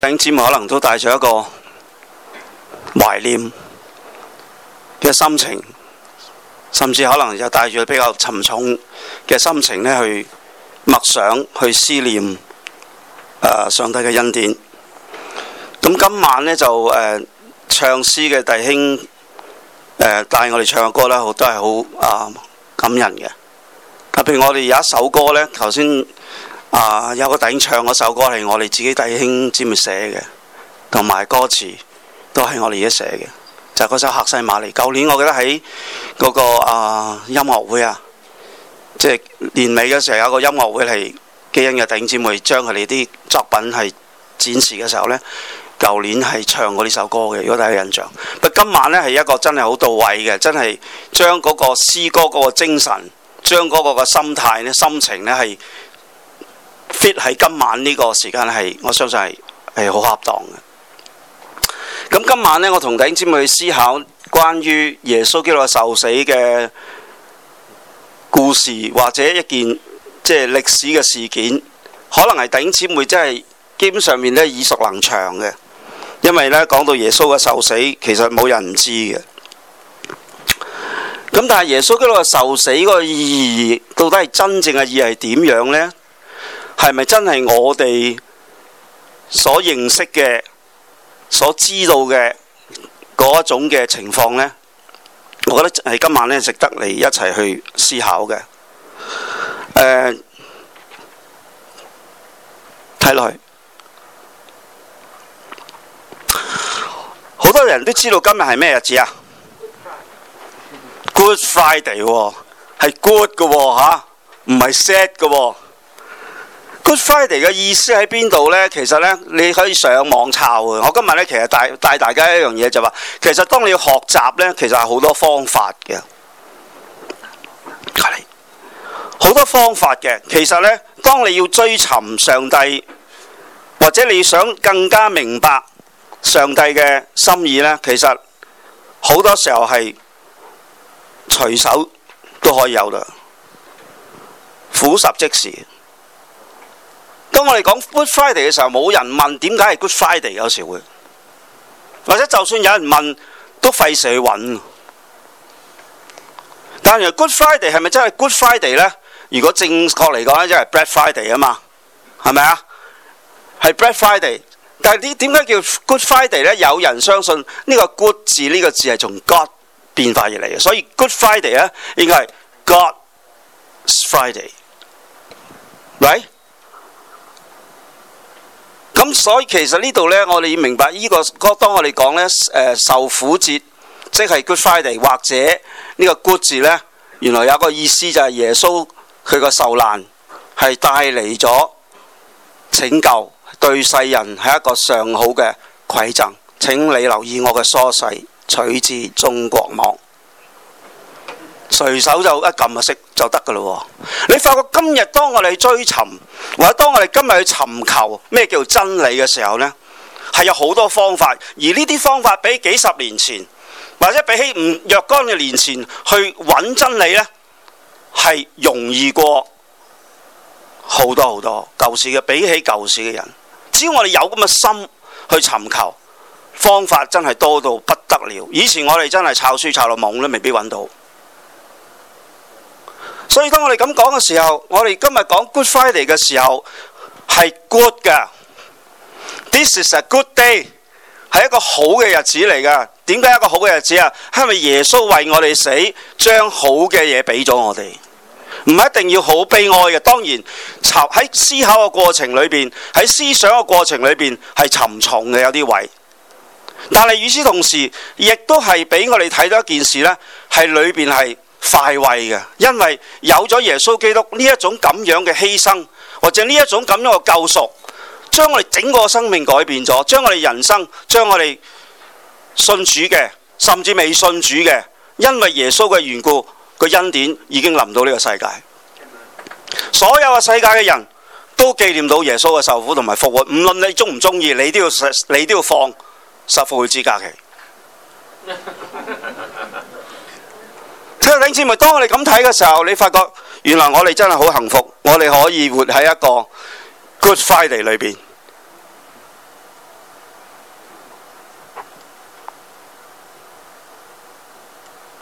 弟兄姊妹可能都帶咗一個懷念嘅心情，甚至可能又帶住比較沉重嘅心情咧去默想、去思念上帝嘅恩典。咁今晚咧就唱詩嘅弟兄帶我哋唱嘅歌咧，都係好感人嘅。特別我哋有一首歌咧，頭先有個弟兄唱嗰首歌係我哋自己弟兄姊妹寫嘅，同埋歌詞都係我哋自己寫嘅，就係嗰首《客西馬尼》。舊年我記得喺嗰個音樂會即係年尾嘅時候有個音樂會係基恩嘅弟兄姊妹將佢哋啲作品係展示嘅時候呢，舊年係唱過呢首歌嘅，如果大家有印象。不過今晚呢係一個真係好到位嘅，真係將嗰個詩歌嗰個精神，將嗰個嘅心態呢、心情呢係 fit 喺今晚呢個時間係，我相信係好恰當嘅。咁今晚呢，我同弟兄姊妹去思考關於耶穌基督嘅受死嘅故事，或者一件即係歷史嘅事件，可能係弟兄姊妹真係基本上面咧耳熟能詳嘅，因為呢講到耶穌嘅受死，其實冇人唔知嘅。咁但係耶穌基督嘅受死嗰個意義，到底係真正嘅意義係點樣呢？係咪真係我哋所認識嘅、所知道嘅嗰一種嘅情況呢？我覺得係今晚呢值得嚟一齊去思考嘅。睇落去，好多人都知道今日係咩日子啊？ Good Friday 喎，係 good 嘅喎嚇，唔係 sad 嘅喎。Good Friday 嘅意思喺邊度呢？其實呢，你可以上網抄嘅。我今日呢，其實帶大家一樣嘢就話，其實當你要學習呢，其實係好多方法嘅，好多方法嘅。其實呢，當你要追尋上帝，或者你想更加明白上帝嘅心意呢，其實好多時候係隨手都可以有啦，俯拾即是。當我哋講 Good Friday 嘅時候，冇人問點解係 Good Friday， 有時會，或者就算有人問，都費事去揾。但係 Good Friday 係咪真係 Good Friday 呢？如果正確嚟講呢，即係 Black Friday 啊嘛，係咪啊？係 Black Friday， 但係點解叫 Good Friday 呢？有人相信呢個 Good 字呢個字係從 God 變化而嚟嘅，所以 Good Friday 呢應該係 God's Friday，right？咁所以其實呢度呢，我哋要明白呢個當我哋講呢受苦節，即係 Good Friday， 或者呢個 Good 字呢，原來有個意思就係耶穌佢個受難係帶嚟咗拯救，對世人係一個上好嘅饋贈。請你留意我嘅疏細，取自中國網，隨手就一撳就識就得㗎咯。你發覺今日當我哋追尋，或者當我哋今日去尋求咩叫真理嘅時候呢，係有好多方法，而呢啲方法比幾十年前，或者比起若干嘅年前去揾真理呢，係容易過好多好多。舊時嘅比起舊時嘅人，只要我哋有咁嘅心去尋求，方法真係多到不得了。以前我哋真係抄書抄到懵都未必揾到。所以當我哋咁講嘅時候，我哋今日講 Good Friday 嘅時候係 good 㗎。This is a good day， 係一個好嘅日子嚟㗎。點解一個好嘅日子啊？係因為耶穌為我哋死，將好嘅嘢俾咗我哋。唔一定要好悲哀嘅，當然喺思考嘅過程裏邊，喺思想嘅過程裏邊係沉重嘅有啲位。但係與此同時，亦都係俾我哋睇到一件事呢，係裏邊係快慰嘅，因為有咗耶穌基督呢一種咁樣嘅犧牲，或者呢一種咁樣嘅救贖，將我哋整個生命改變咗，將我哋人生，將我哋信主嘅，甚至未信主嘅，因為耶穌嘅緣故，個恩典已經臨到呢個世界。所有嘅世界嘅人都紀念到耶穌嘅受苦同埋復活，唔論你中唔中意，你都要放受復活節假期。弟兄姊妹，當我哋咁睇嘅時候，你發覺原來我哋真係好幸福，我哋可以活喺一個 Good Friday 裏邊。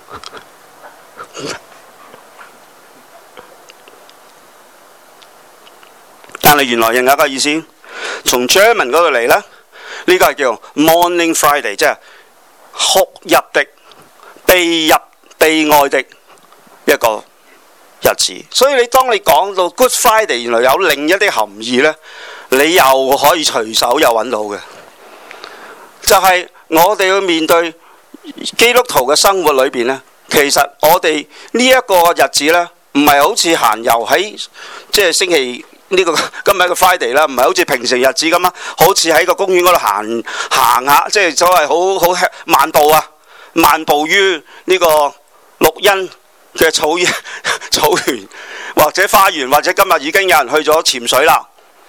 但係原來另一個意思，從 German 嗰度嚟呢，呢個係叫 Mourning Friday， 即係哭泣的、悲哀的一個日子。所以當你講到 Good Friday， 原來有另一啲含義呢，你又可以隨手又揾到嘅，就係我哋要面對基督徒嘅生活裏邊呢，其實我哋呢一個日子呢，唔係好似閒遊喺即係星期呢個今日嘅 Friday 啦，唔係好似平時日子咁啊，好似喺個公園嗰度行下，即係所謂好漫步啊，漫步於呢個綠茵嘅草原或者花園，或者今日已經有人去咗潛水啦，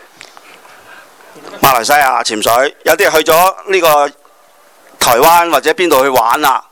馬來西亞潛水，有啲人去咗呢個台灣或者邊度去玩啦，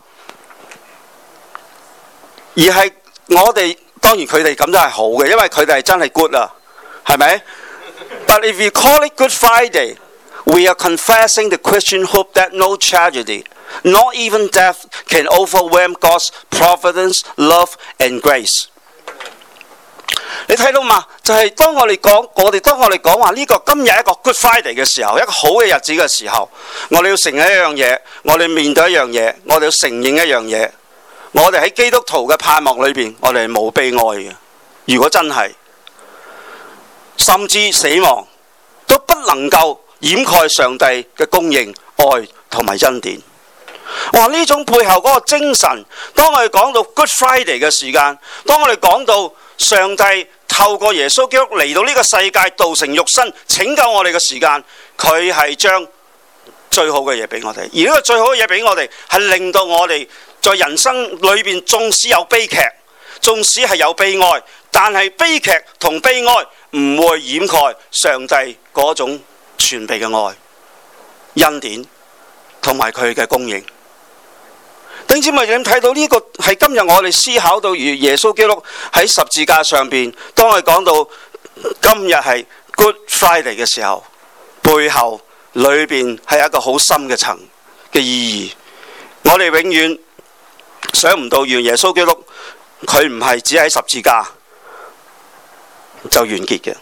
而係我哋當然佢哋咁都係好嘅，因為佢哋係真係 good 啊。係咪 ？But if you call it Good Friday, we are confessing the Christian hope that no tragedy, not even death, can overwhelm God's providence, love and grace。你睇到嘛？就係當我哋講話呢個今日一個 Good Friday 嘅時候，一個好嘅日子嘅時候，我哋要承認一樣嘢，我哋面對一樣嘢，我哋要承認一樣嘢，我哋喺基督徒嘅盼望裏邊，我哋係冇悲哀嘅。如果真係，甚至死亡都不能夠掩蓋上帝嘅供應、愛同埋恩典。哇！呢種背後嗰個精神，當我哋講到 Good Friday 嘅時間，當我哋講到上帝透過耶穌基督嚟到呢個世界，道成肉身拯救我哋嘅時間，佢係將最好嘅嘢俾我哋。而呢個最好嘅嘢俾我哋，係令到我哋在人生裏邊，縱使有悲劇，縱使係有悲哀，但係悲劇同悲哀唔會掩蓋上帝嗰種全備嘅愛、恩典同埋佢嘅供應。弟兄姊妹，你睇到呢個係今日我哋思考到，如耶穌基督喺十字架上邊，當我哋講到今日係 Good Friday 嘅時候，背後裏邊係一個好深嘅層嘅意義。我哋永遠想唔到，原耶穌基督佢唔係只喺十字架就完結嘅，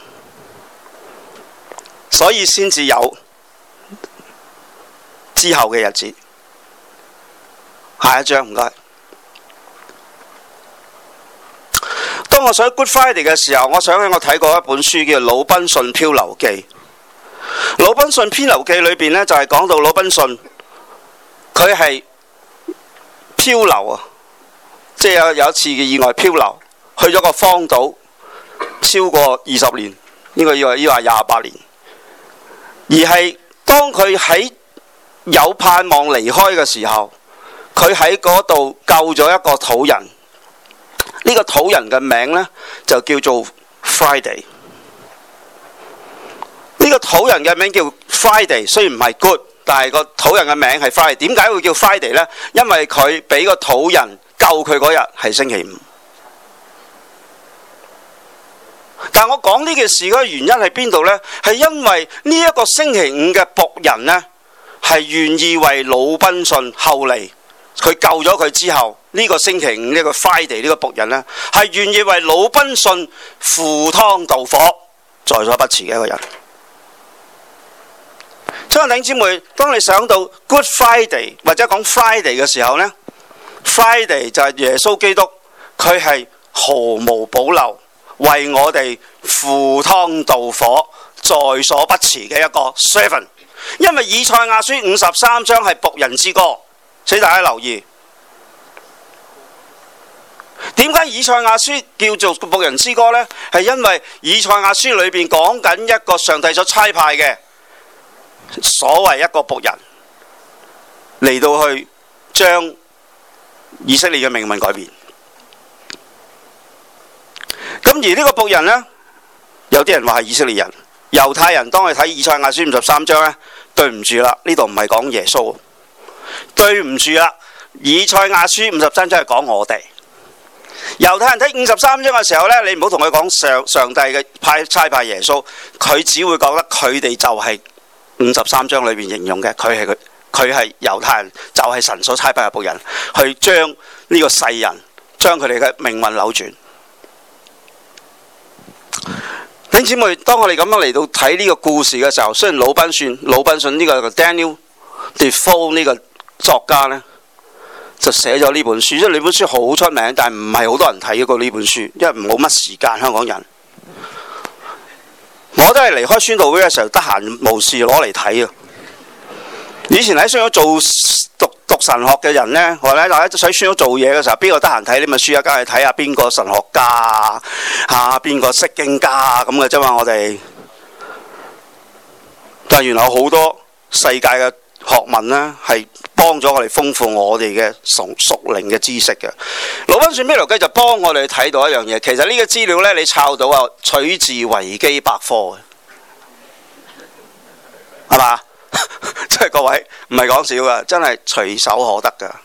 所以先至有之後嘅日子。下一章唔該。當我想 Good Friday 嘅時候，我想起我睇過一本書叫《魯賓遜漂流記》。魯賓遜漂流記裏邊呢，就係講到魯賓遜佢係漂流啊，即係有一次嘅意外漂流去咗個荒島超過20年，應該要話28年，而係當佢喺有盼望離開嘅時候，佢喺嗰度救咗一個土人。呢個土人嘅名呢，就叫做 Friday。呢個土人嘅名叫 Friday， 雖然唔係 good， 但係個土人嘅名係 Friday。點解會叫 Friday 呢？因為佢俾個土人救佢嗰日係星期五。但我講呢件事嘅原因係邊度呢？係因為呢一個星期五嘅僕人呢，係願意為魯賓遜後嚟佢救咗佢之後，呢個星期五呢個 Friday 呢個僕人呢，係願意為魯賓遜赴湯蹈火，在所不辭嘅一個人。所以弟兄姊妹，當你想到 Good Friday 或者講 Friday 嘅時候呢， Friday 就係耶穌基督，佢係毫無保留為我哋赴湯蹈火，在所不辭嘅一個 servant。因為以賽亞書53章係僕人之歌，請大家留意。點解以賽亞書叫做僕人之歌呢？係因為以賽亞書裏邊講緊一個上帝所差派嘅所謂一個僕人嚟到去將以色列嘅命運改變。咁而呢個僕人呢，有啲人話係以色列人、猶太人。當我哋睇以賽亞書53章呢，對唔住啦，呢度唔係講耶穌，對唔住啦，以賽亞書53章係講我哋。猶太人睇53章嘅時候呢，你唔好同佢講上帝嘅差派耶穌，佢只會覺得佢哋就係53章裏邊形容嘅，佢佢係猶太人，就係神所差派嘅僕人，去將呢個世人將佢哋嘅命運扭轉。弟兄姊妹，當我哋咁樣嚟到睇呢個故事嘅時候，雖然魯賓遜呢個 Daniel Defoe 呢個作家呢，就寫咗呢本書，因為呢本書好出名，但係唔係好多人睇過呢本書，因為冇乜時間。香港人我都係離開宣道會嘅時候，得閒無事攞嚟睇啊！以前喺宣道做讀神學嘅人呢，或者大家喺宣道做嘢嘅時候，邊個得閒睇呢本書啊？梗係睇下邊個神學家啊，邊個釋經家咁嘅啫嘛。我哋但係原來有好多世界嘅學問呢，係幫咗我哋豐富我哋嘅屬靈嘅知識嘅。魯賓遜咩邏輯就幫我哋睇到一樣嘢，其實呢個資料呢，你抄到啊，取自維基百科嘅，係嘛？即係各位唔係講笑噶，真係隨手可得噶。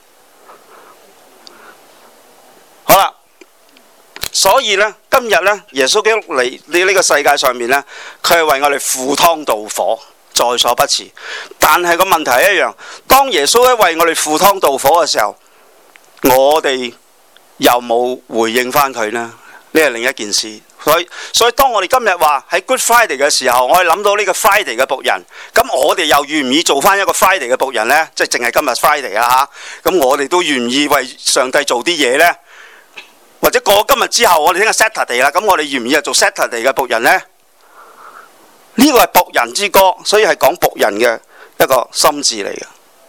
好啦，所以呢，今日呢，耶穌基督嚟呢個世界上面呢，佢係為我哋赴湯蹈火，在所不辭。但係個問題係一樣，當耶穌咧為我哋赴湯蹈火嘅時候，我哋又冇回應翻佢呢？呢係另一件事。所以當我哋今日話喺 Good Friday 嘅時候，我哋諗到呢個 Friday 嘅僕人，咁我哋又願唔願意做翻一個 Friday 嘅僕人呢？即係淨係今日 Friday 啊嚇，咁我哋都願意為上帝做啲嘢呢？或者過今日之後，我哋聽日 Saturday 啦，咁我哋願唔願意做 Saturday 嘅僕人呢？呢個係僕人之歌，所以係講僕人嘅一個心志嚟嘅。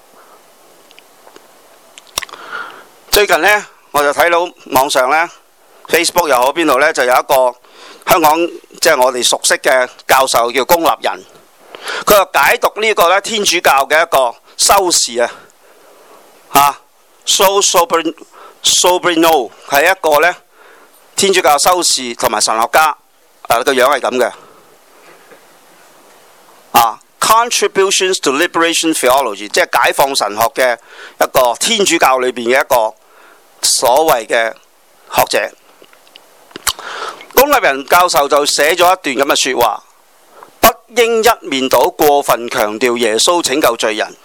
最近呢，我就睇到網上呢 Facebook 又好邊度呢，就有一個香港即係我哋熟悉嘅教授叫龔立人，佢就解讀呢個咧天主教嘅一個修士啊，Sobrino 係一個咧天主教修士同埋神學家，個樣係咁嘅。Contributions to Liberation Theology， 即係解放神學嘅一個天主教裏邊嘅一個所謂嘅學者。龔立人教授就寫咗一段咁嘅說話，不應一面倒過分強調耶穌拯救罪人。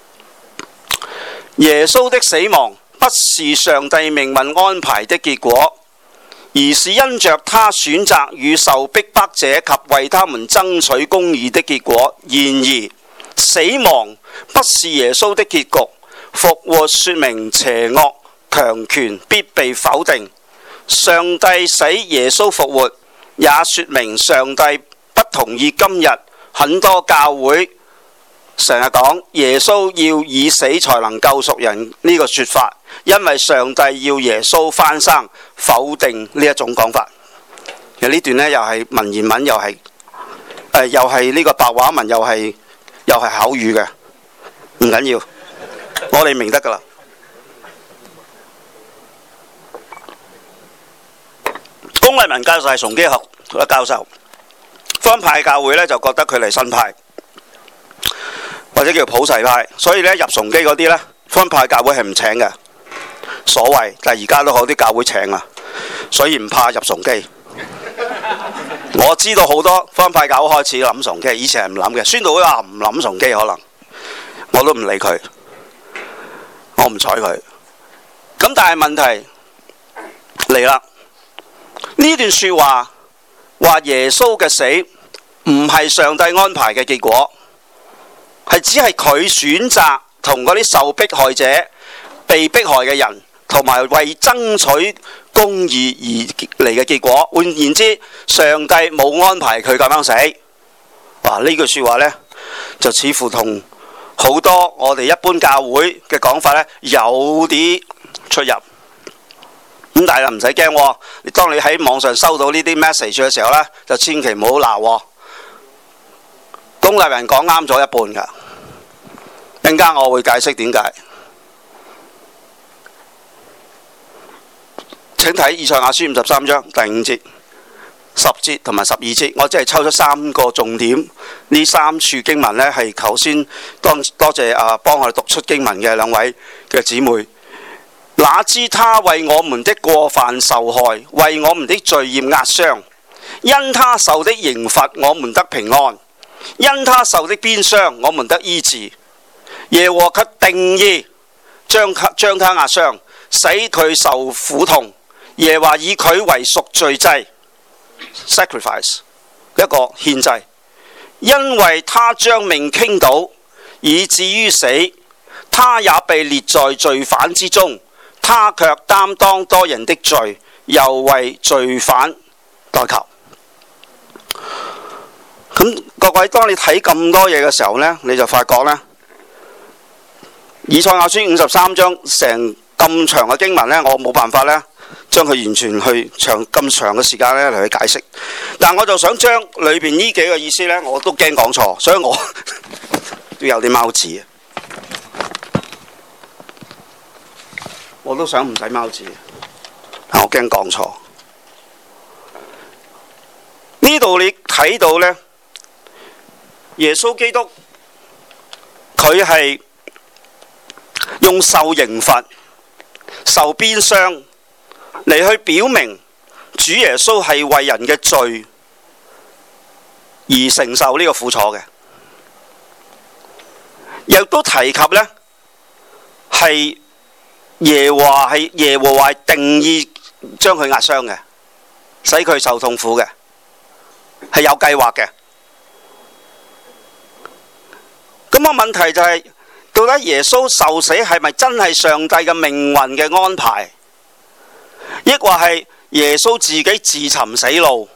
耶穌的死亡不是上帝命運安排的結果，而是因着他選擇與受逼迫者及為他們爭取公義的結果。然而，死亡不是耶穌的結局，復活說明邪惡強權必被否定。上帝使耶穌復活，也說明上帝不同意今日很多教會成日講耶穌要以死才能救贖人呢個說法，因為上帝要耶穌翻生，否定呢一種講法。其實呢段呢，又係文言文，又係呢個白話文，又係口語嘅，唔緊要，我哋明得噶啦。龔立人教授係崇基學嘅教授，福音派教會呢就覺得佢係新派，或者叫普世派，所以呢入崇基嗰啲呢，福音派教會係唔請嘅，所謂，但係而家都好啲教會請啊，所以唔怕入崇基。我知道好多福音派教會開始諗崇基，以前係唔諗嘅，宣道會話唔諗崇基，可能我都唔理佢，我唔睬佢。咁但係問題嚟啦。呢段說話話耶穌嘅死唔係上帝安排嘅結果，係只係佢選擇同嗰啲受迫害者、被迫害嘅人，同埋為爭取公義而嚟嘅結果。換言之，上帝冇安排佢咁樣死。哇！呢句說話呢，就似乎同好多我哋一般教會嘅講法呢有啲出入。咁但係唔使驚，當你喺網上收到呢啲 message 嘅時候呢，就千祈唔好鬧。龔立人講啱咗一半㗎，陣間我會解釋點解。請睇以賽亞書53章第5節、10節同埋12節，我只係抽咗3個重點。呢3處經文呢，係頭先多謝幫我哋讀出經文嘅兩位嘅姊妹。哪知他為我們的過犯受害，為我們的罪孽壓傷，因他受的刑罰，我們得平安；因他受的鞭傷，我們得醫治。 耶和華卻定意將他壓傷，使佢受苦痛。耶和華以佢為贖罪祭 sacrifice 一個獻祭，因為他將命傾倒，以至於死，他也被列在罪犯之中，他卻擔當多人的罪，又為罪犯代求。咁各位，當你睇咁多嘢嘅時候呢，你就發覺呢，以賽亞書53章成咁長嘅經文呢，我冇辦法呢將佢完全去咁長嘅時間呢嚟去解釋。但我就想將裏邊呢幾個意思呢，我都驚講錯，所以我都有啲貓字，我都想唔使貓字，但我驚講錯。呢度你睇到呢，耶穌基督佢係用受刑罰、受鞭傷嚟去表明主耶穌係為人嘅罪而承受呢個苦楚嘅，亦都提及呢係耶和華定意將佢壓傷嘅，使佢受痛苦嘅，係有計劃嘅。咁個問題就係，到底耶穌受死係咪真係上帝嘅命運嘅安排，抑或係耶穌自己自尋死路，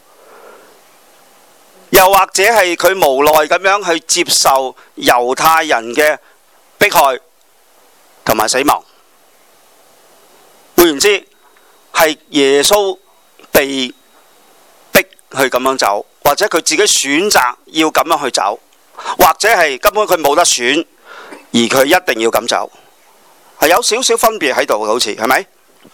又或者係佢無奈咁樣去接受猶太人嘅迫害同埋死亡？換言之，係耶穌被逼去咁樣走，或者佢自己選擇要咁樣去走，或者係根本佢冇得選，而佢一定要咁走，係有少少分別喺度嘅，好似係咪？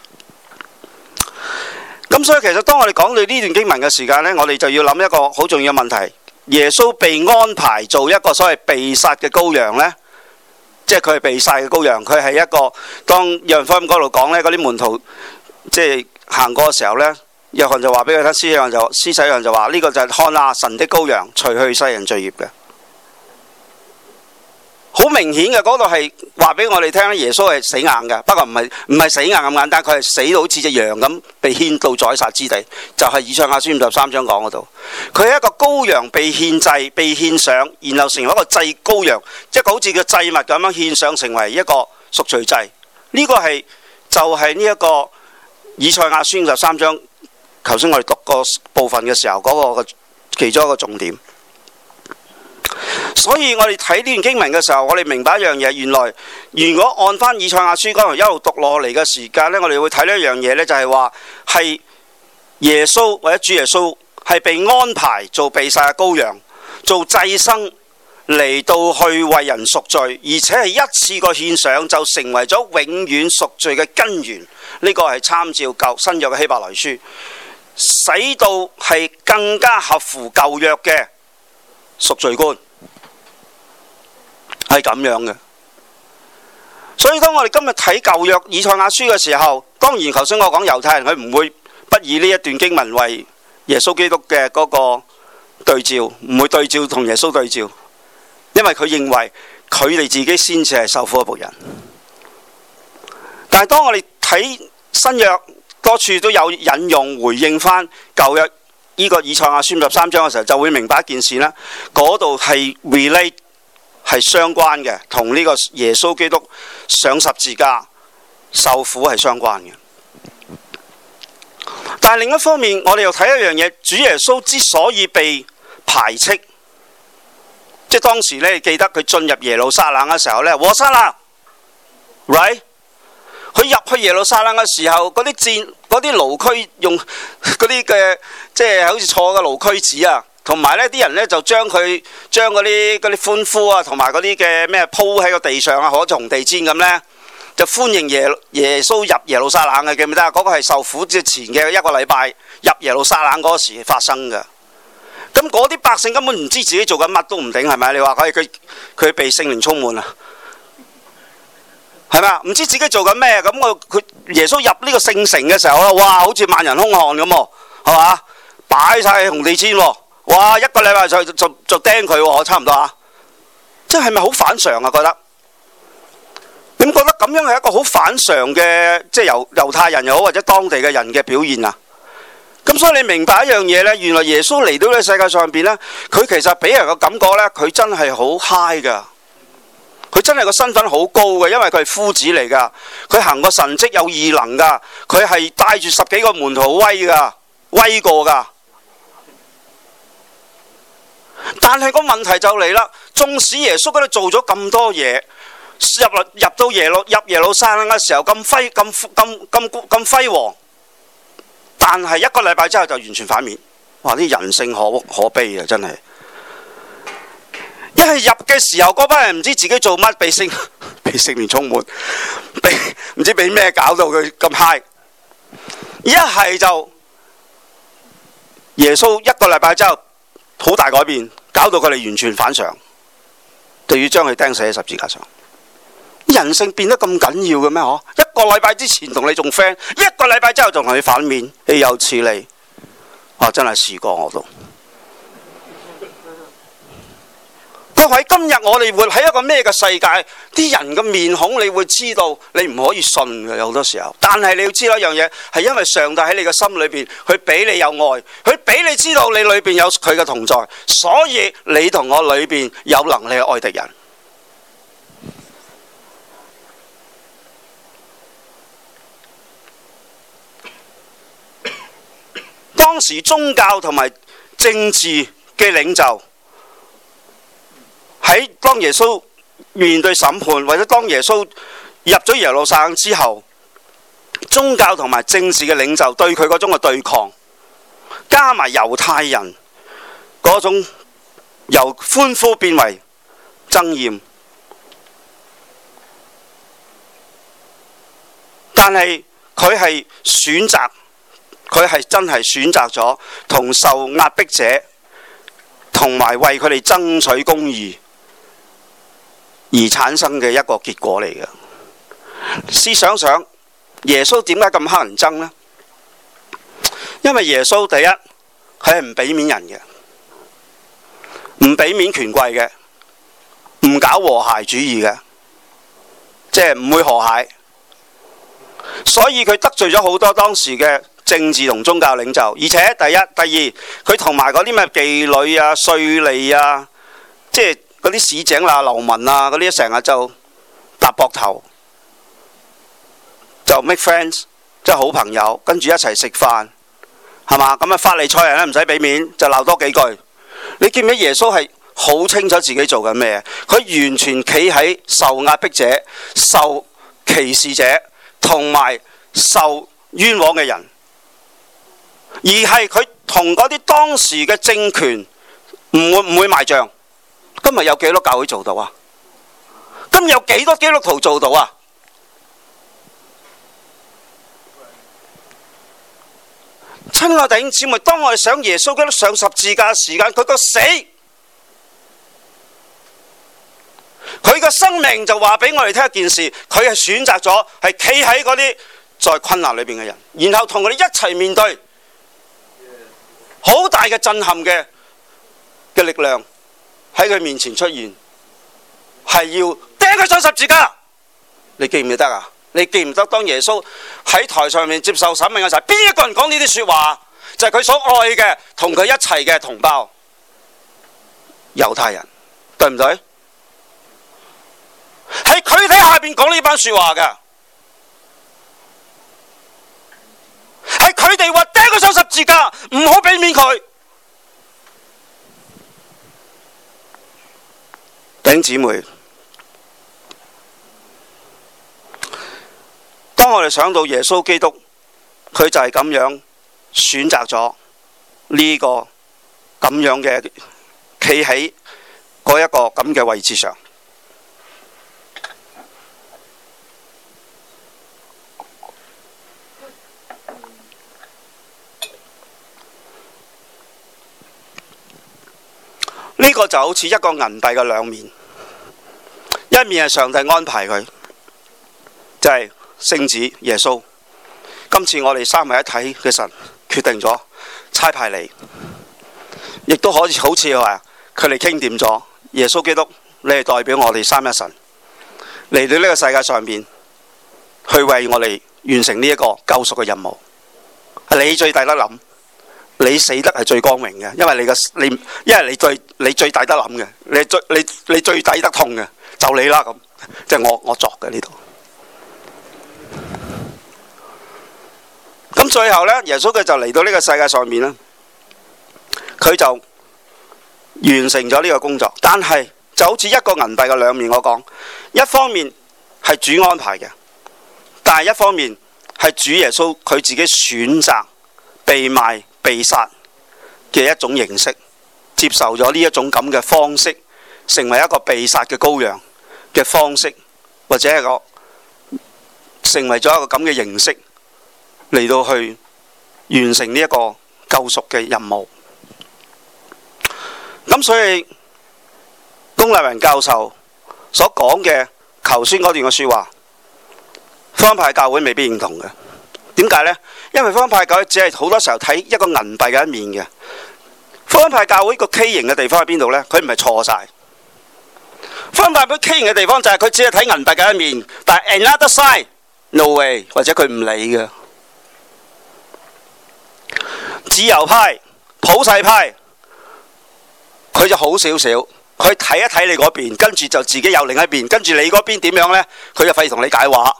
咁所以其實當我哋講到呢段經文嘅時間呢，我哋就要諗一個好重要嘅問題：耶穌被安排做一個所謂被殺嘅羔羊呢，即係佢係被殺嘅羔羊，佢係一個當約翰福音嗰度講呢，嗰啲門徒即係行過嘅時候呢，約翰就話俾佢聽，施洗約翰就話呢個就係看啊神的羔羊，除去世人罪孽嘅。好明顯嘅，嗰度係話俾我哋聽，耶穌係死硬嘅，不過唔係死硬咁簡單，佢係死到好似隻羊咁被牽到宰殺之地，就係以賽亞書53章講嗰度。佢係一個羔羊被獻祭、被獻上，然後成為一個祭羔羊，即係好似個祭物咁樣獻上，成為一個贖罪祭。呢個係就係呢一個以賽亞書53章，頭先我哋讀個部分嘅時候嗰個其中一個重點。所以我哋睇呢段經文嘅時候，我哋明白一樣嘢，原來如果按翻以賽亞書嗰度一路讀落嚟嘅時間呢，我哋會睇呢一樣嘢呢，就係話係耶穌或者主耶穌係被安排做被殺嘅羔羊，做祭牲嚟到去為人贖罪，而且係一次過獻上就成為咗永遠贖罪嘅根源。呢個係參照新約嘅希伯來書，使到係更加合乎舊約嘅贖罪觀，係咁樣嘅。所以當我哋今日睇舊約以賽亞書嘅時候，當然頭先我講猶太人佢唔會不以呢一段經文為耶穌基督嘅嗰個對照，唔會對照同耶穌對照，因為佢認為佢哋自己先至係受苦嘅僕人。但係當我哋睇新約多處都有引用回應翻舊約呢個以賽亞書53章嘅時候，就會明白一件事啦。嗰度係 relate 係相關嘅，同呢個耶穌基督上十字架受苦係相關嘅。但係另一方面，我哋又睇一樣嘢，主耶穌之所以被排斥，即係當時咧，記得佢進入耶路撒冷嘅時候咧，和散那 right？佢入去耶路撒冷嘅時候，嗰啲驢駒用嗰啲嘅，即係好似坐嘅驢駒子啊，同埋呢啲人呢，就將嗰啲歡呼啊，同埋嗰啲嘅咩鋪喺個地上啊，好似紅地氈咁呢，就歡迎耶穌入耶路撒冷嘅，記唔記得啊？嗰個係受苦之前嘅一個禮拜入耶路撒冷嗰時發生嘅。咁嗰啲百姓根本唔知自己做緊乜都唔定，係咪？你話佢被聖靈充滿啊？係咪啊？唔知自己做緊咩？咁佢耶穌入呢個聖城嘅時候啦，哇！好似萬人空巷咁喎，係嘛？擺晒紅地氈喎，哇！一個禮拜就釘佢喎，差唔多啊！即係咪好反常啊？覺得咁樣係一個好反常嘅，即係猶太人又好或者當地嘅人嘅表現啊。咁所以你明白一樣嘢呢，原來耶穌嚟到呢個世界上邊呢，佢其實俾人個感覺呢，佢真係好 high 噶，佢真係個身份好高嘅，因為佢係夫子嚟噶，佢行個神蹟有異能噶，佢係帶住10幾個門徒威噶，威過噶。但係個問題就嚟啦，縱使耶穌嗰度做咗咁多嘢，入到耶路撒冷嘅時候咁輝煌，但係1個禮拜之後就完全反面。哇！啲人性可悲啊，真係。一係入嘅時候，嗰班人唔知自己做乜，被聖靈充滿，唔知俾咩搞到佢咁 high。一係就耶穌1個禮拜之後好大改變，搞到佢哋完全反常，就要將佢釘死喺十字架上。人性變得咁緊要嘅咩？嗬！1個禮拜之前同你仲 friend， 1個禮拜之後仲同你反面，豈有此理！哇！真係試過我都。各位，今日我哋活喺一個咩嘅世界？啲人嘅面孔，你會知道你唔可以信嘅，有好多時候。但係你要知道一樣嘢，係因為上帝喺你嘅心裏邊，佢俾你有愛，佢俾你知道你裏邊有佢嘅同在，所以你同我裏邊有能力去愛敵人。當時宗教同埋政治嘅領袖喺當耶穌面對審判，或者當耶穌入咗耶路撒冷之後，宗教同埋政治嘅領袖對佢嗰種嘅對抗，加埋猶太人嗰種由歡呼變為憎厭，但係佢係選擇。佢係真係選擇咗同受壓迫者同埋為佢哋爭取公義而產生嘅一個結果嚟嘅。試想想，耶穌點解咁乞人憎呢？因為耶穌第一，佢係唔俾面人嘅，唔俾面權貴嘅，唔搞和諧主義嘅，即係唔會和諧，所以佢得罪咗好多當時嘅政治同宗教領袖。而且第一、第二，佢同埋嗰啲咩妓女啊、稅吏啊，即係嗰啲市井啊、流民啊嗰啲，成日就搭膊頭，就 make friends， 即係好朋友，跟住一齊食飯，係嘛？咁啊，法利賽人咧唔使俾面，就鬧多幾句。你見唔見耶穌係好清楚自己做緊咩？佢完全企喺受壓迫者、受歧視者同埋受冤枉嘅人。而係佢同嗰啲當時嘅政權唔會賣帳。今日有幾多教會做到啊？今日有幾多基督徒做到啊？親愛弟兄姊妹，當我哋想耶穌基督上十字架嘅時間，佢個死，佢個生命就話俾我哋聽一件事，佢係選擇咗係企喺嗰啲在困難裏邊嘅人，然後同佢哋一齊面對好大嘅震撼嘅力量喺佢面前出現，係要釘佢上十字架。你記唔記得啊？你記唔得當耶穌喺台上面接受審問嘅時候，邊一個人講呢啲說話？就係佢所愛嘅同佢一齊嘅同胞猶太人，對唔對？喺佢哋下邊講呢班說話嘅，係佢哋話釘佢上十字架，唔好俾面佢。弟兄姊妹，當我哋想到耶穌基督，佢就係咁樣選擇咗呢個咁樣嘅企喺嗰一個咁嘅位置上。呢個就好似一個銀幣嘅兩面，一面係上帝安排佢，就係聖子耶穌。今次我哋三位一體嘅神決定咗差派你，亦都可以好似話佢哋傾掂咗，耶穌基督，你係代表我哋三一神嚟到呢個世界上面， 去為我哋完成呢一個救贖嘅任務。你最抵得諗，你死得係最光榮嘅，因為你最抵得諗嘅，你最抵得痛嘅，就你啦咁，即係我作嘅呢度。咁最後呢，耶穌佢就嚟到呢個世界上面啦，佢就完成咗呢個工作。但係就好似一個銀幣嘅兩面，我講一方面係主安排嘅，但係一方面係主耶穌佢自己選擇被賣被殺嘅一種形式，接受咗呢一種咁嘅方式，成為一個被殺嘅羔羊嘅方式，或者係成為咗一個咁嘅形式嚟到去完成呢一個救贖嘅任務。咁所以龔麗雲教授所講嘅頭先嗰段嘅說話，福音派教會未必認同嘅。點解呢？因為福音派教會只係好多時候睇一個銀幣嘅一面嘅。福音派教會個畸形嘅地方喺邊度呢？佢唔係錯晒。福音派佢畸形嘅地方就係佢只係睇銀幣嘅一面，但係 another side no way， 或者佢唔理嘅。自由派、普世派，佢就好少少，佢睇一睇你嗰邊，跟住就自己有另一邊，跟住你嗰邊點樣呢？佢就費事同你解話。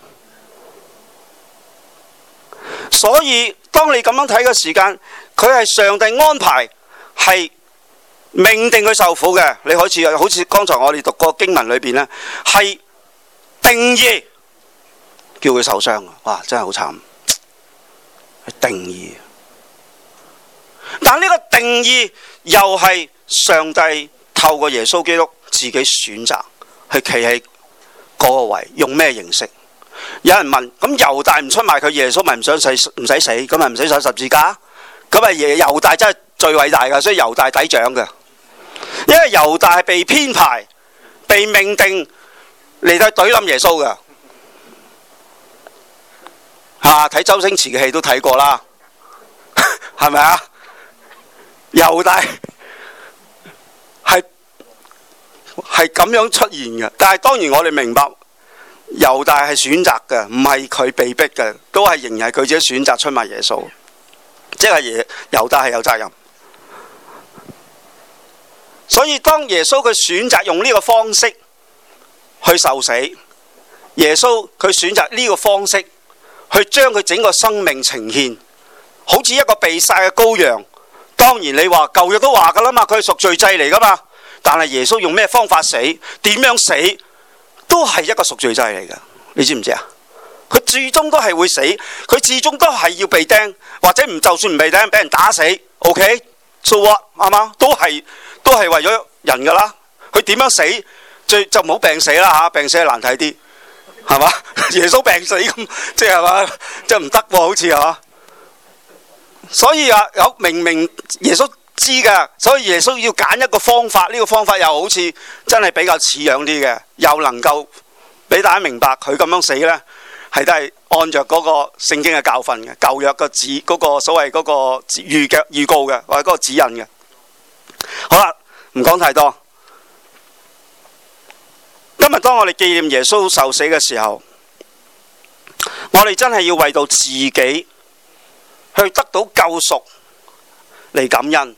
所以當你咁樣睇嘅時間，佢係上帝安排，係命定佢受苦嘅。你好似剛才我哋讀過經文裏邊呢，係定義叫佢受傷。哇，真係好慘，係定義。但呢個定義又係上帝透過耶穌基督自己選擇去企喺嗰個位，用咩形式？有人問：咁猶大唔出賣佢，耶穌咪唔使死，咁咪唔使上十字架？咁啊，猶大真係最偉大噶，所以猶大抵獎嘅。因為猶大係被編排、被命定嚟到懟冧耶穌嘅。睇周星馳嘅戲都睇過啦，係咪啊？猶大係咁樣出現嘅，但係當然我哋明白猶大係選擇嘅，唔係佢被逼嘅，都係仍然係佢自己選擇出賣耶穌，即係猶大係有責任。所以當耶穌佢選擇用呢個方式去受死，耶穌佢選擇呢個方式去將佢整個生命呈現，好似一個被殺嘅羔羊。當然你話舊約都話噶啦嘛，佢係贖罪祭嚟噶嘛。但係耶穌用咩方法死，點樣死，都係一個贖罪祭嚟噶。你知唔知啊？佢最終都係會死，佢最終都係要被釘，或者就算唔被釘，俾人打死。OK，so what，啱嘛？都係為咗人噶啦。佢點樣死，就唔好病死啦吓，病死係難睇啲，係嘛？耶穌病死咁，即係嘛，即係唔得喎，好似係嘛。所以明耶穌知噶，所以耶穌要揀一個方法，呢個方法又好似真係比較似樣啲嘅，又能夠俾大家明白佢咁樣死呢，係都係按着嗰個聖經嘅教訓嘅，舊約嘅嗰個所謂嗰個預告嘅，或者嗰個指引嘅。好啦，唔講太多。今日當我哋紀念耶穌受死嘅時候，我哋真係要為到自己去得到救贖嚟感恩。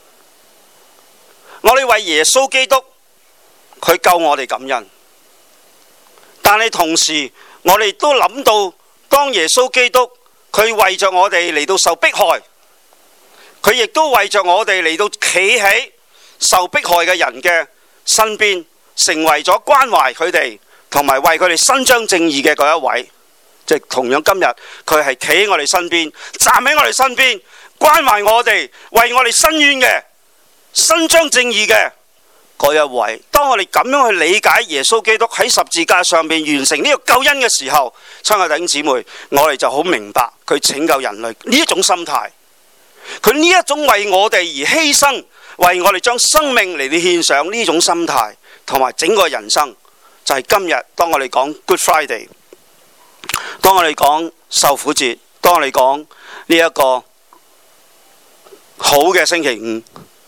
我哋為耶穌基督佢救我哋感恩，但係同時我哋都諗到，當耶穌基督佢為着我哋嚟到受迫害，佢亦都為着我哋嚟到企喺受迫害嘅人嘅身邊，成為咗關懷佢哋同埋為佢哋伸張正義嘅嗰一位。即係同樣今日佢係企喺我哋身邊，站喺我哋身邊，關懷我哋，為我哋伸冤嘅，伸張正義嘅嗰一位。當我哋咁樣去理解耶穌基督喺十字架上面完成呢個救恩嘅時候，親愛弟兄姊妹，我哋就好明白佢拯救人類呢一種心態，佢呢一種為我哋而犧牲，為我哋將生命嚟到獻上呢種心態，同埋整個人生就係今日當我哋講 Good Friday，當我哋講受苦節，當我哋講呢一個好嘅星期五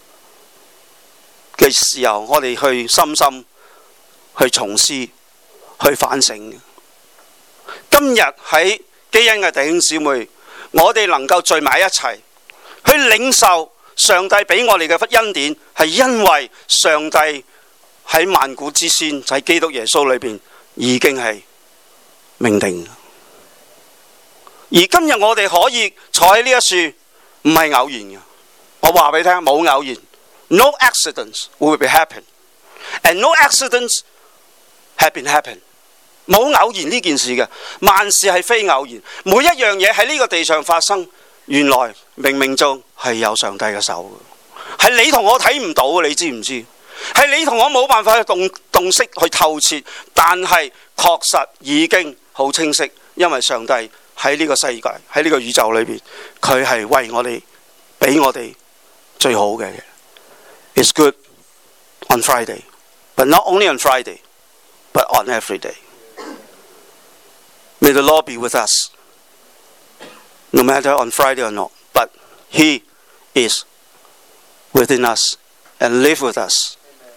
嘅時候，我哋去深深去重思、去反省。今今日喺基恩嘅弟兄姊妹，我哋能夠聚埋一齊去領受上帝俾我哋嘅恩典，係因為上帝喺萬古之先，就喺基督耶穌裏邊已經係命定。而今日我哋可以坐喺呢一樹，唔係偶然嘅。我話俾你聽，冇偶然。No accidents will be happen, and no accidents have been happen。冇偶然呢件事嘅，萬事係非偶然。每一樣嘢喺呢個地上發生，原來冥冥中係有上帝嘅手嘅，係你同我睇唔到嘅，你知唔知？係你同我冇辦法去洞悉去透徹，但係確實已經好清晰，因為上帝喺呢個世界，喺呢個宇宙裏邊，佢係為我哋俾我哋最好嘅嘢。It's good on Friday, but not only on Friday, but on every day. May the Lord be with us, no matter on Friday or not, but He is within us and live with us.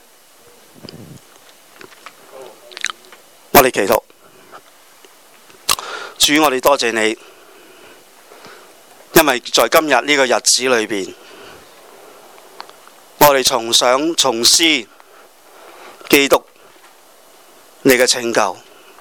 我哋祈禱，主，我哋多謝你，因為在今日呢個日子裏邊，我哋重想重思基督你嘅拯救。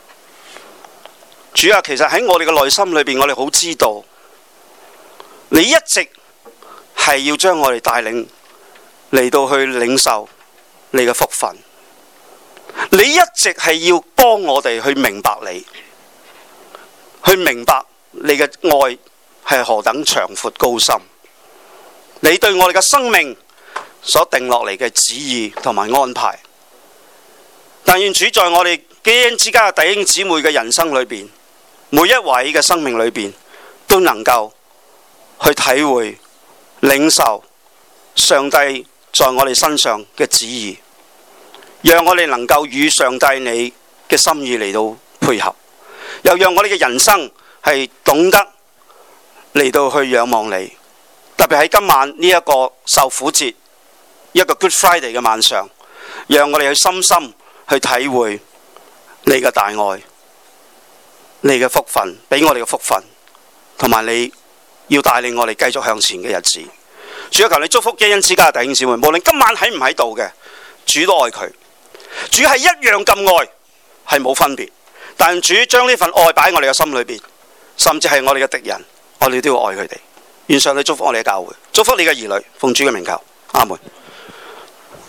主啊，其實喺我哋嘅內心裏邊，我哋好知道你一直係要將我哋帶領嚟到去領受你嘅福分，你一直係要幫我哋去明白你，去明白你嘅愛係何等長闊高深，你對我哋嘅生命所定落嚟嘅旨意同埋安排。但願主在我哋基恩之家嘅弟兄姊妹嘅人生裏邊，每一位嘅生命裏邊都能夠去體會領受上帝在我哋身上嘅旨意，讓我哋能夠與上帝你嘅心意嚟到配合，又讓我哋嘅人生係懂得嚟到去仰望你。特別喺今晚呢一個受苦節，一個 Good Friday 嘅晚上，讓我哋去深深去體會你嘅大愛，你嘅福分，俾我哋嘅福分，同埋你要帶領我哋繼續向前嘅日子。主啊，求你祝福基恩之家嘅弟兄姊妹，無論今晚喺唔喺度嘅，主都愛佢，主係一樣咁愛，係冇分別。但主將呢份愛擺喺我哋嘅心裏邊，甚至係我哋嘅敵人，我哋都要愛佢哋。願上帝祝福我哋嘅教會，祝福你嘅兒女，奉主嘅名求，阿門。